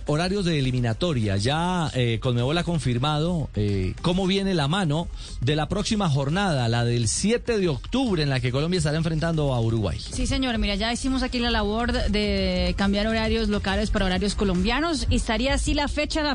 horarios de eliminatoria. Ya Conmebol ha confirmado cómo viene la mano de la próxima jornada, la del 7 de octubre, en la que Colombia estará enfrentando a Uruguay. Sí, señor. Mira, ya hicimos aquí la labor de cambiar horarios locales para horarios colombianos y estaría así la fecha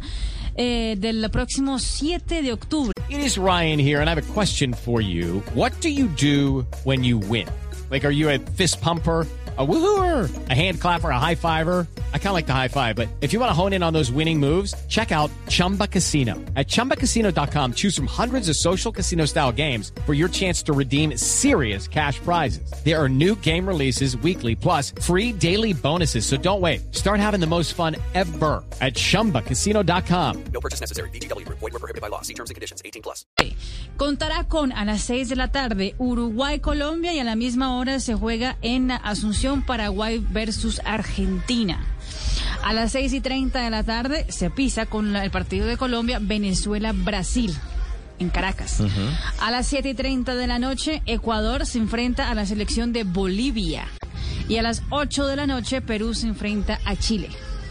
del próximo 7 de octubre. It is Ryan here, and I have a question for you. What do you do when you win? Like, are you a fist pumper, a woohooer, a hand clapper, a high fiver? I kind of like the high five, but if you want to hone in on those winning moves, check out Chumba Casino. At ChumbaCasino.com, choose from hundreds of social casino-style games for your chance to redeem serious cash prizes. There are new game releases weekly, plus free daily bonuses, so don't wait. Start having the most fun ever at ChumbaCasino.com. No purchase necessary. VGW. Void where prohibited by law. See terms and conditions. 18+. Contará con a las 6 de la tarde Uruguay-Colombia y a la misma hora se juega en Asunción, Paraguay versus Argentina. A las 6:30 de la tarde se pisa con el partido de Colombia, Venezuela-Brasil, en Caracas. A las 7:30 de la noche, Ecuador se enfrenta a la selección de Bolivia. Y a las 8 de la noche, Perú se enfrenta a Chile.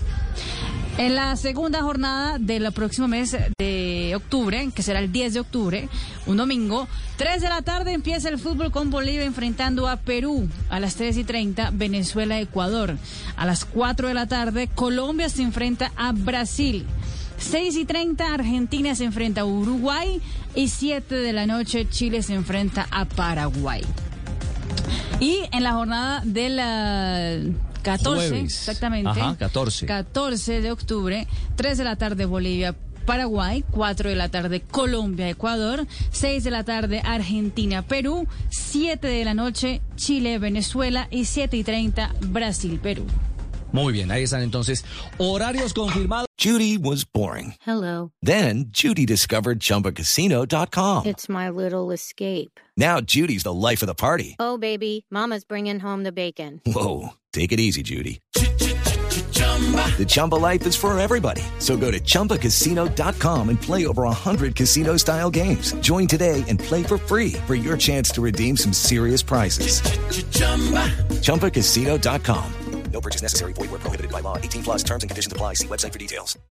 En la segunda jornada del próximo mes de octubre, que será el 10 de octubre, un domingo, 3 de la tarde empieza el fútbol con Bolivia enfrentando a Perú. A las 3:30, Venezuela-Ecuador. A las 4 de la tarde, Colombia se enfrenta a Brasil. 6:30, Argentina se enfrenta a Uruguay. Y 7 de la noche, Chile se enfrenta a Paraguay. Y en la jornada de la 14, jueves. Exactamente. Ajá, 14. 14 de octubre, 3 de la tarde Bolivia, Paraguay, 4 de la tarde Colombia, Ecuador, 6 de la tarde Argentina, Perú, 7 de la noche Chile, Venezuela y 7:30 Brasil, Perú. Muy bien, ahí están entonces horarios confirmados. Judy was boring. Hello. Then Judy discovered ChumbaCasino.com. It's my little escape. Now Judy's the life of the party. Oh, baby, mama's bringing home the bacon. Whoa, take it easy, Judy. The Chumba life is for everybody. So go to ChumbaCasino.com and play over 100 casino-style games. Join today and play for free for your chance to redeem some serious prizes. ChumbaCasino.com. No purchase necessary. Void where prohibited by law. 18+. Terms and conditions apply. See website for details.